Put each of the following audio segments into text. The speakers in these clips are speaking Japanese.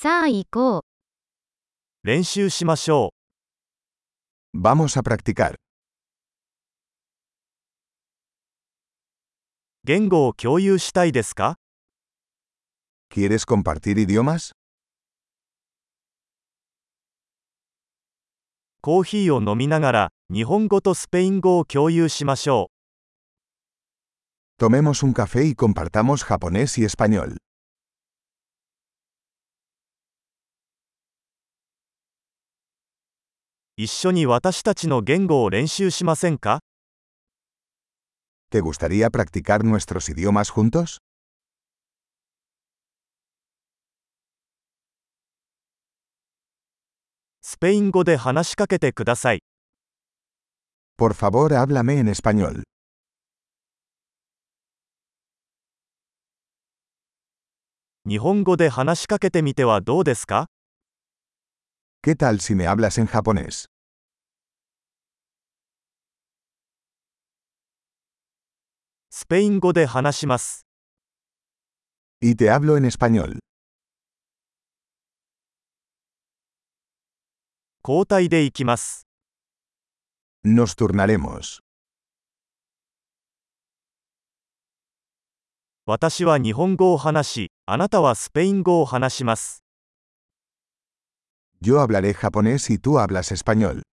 さあ行こう。 練習しましょ Vamos a practicar. う。言語を共有したいですか？ ¿Quieres compartir idiomas? コーヒーを飲みながら、日本語とスペイン語を共有しましょう。 Tomemos un café y compartamos japonés y español. 一緒に私たちの言語を練習しませんか？ ¿Te gustaría practicar nuestros idiomas juntos? スペイン語で話しかけてください。 Por favor, háblame en español. 日本語で話しかけてみてはどうですか？ ¿Qué tal si me hablas en japonés? スペイン語で話します。 Y te hablo en español. 交代で行きます。 Nos turnaremos. 私は日本語を話し、あなたはスペイン語を話します。 Yo hablaré japonés y tú hablas español.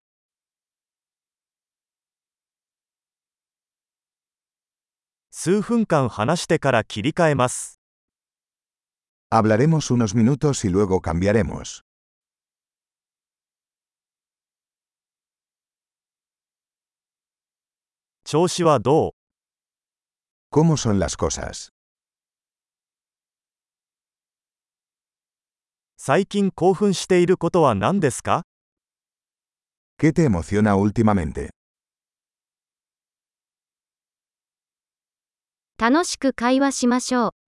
数分間話してから切り替えます。 Hablaremos unos minutos y luego cambiaremos. 調子はどう？ ¿Cómo son las cosas? 最近興奮していることは何ですか？ ¿Qué te emociona últimamente? 楽しく会話しましょう。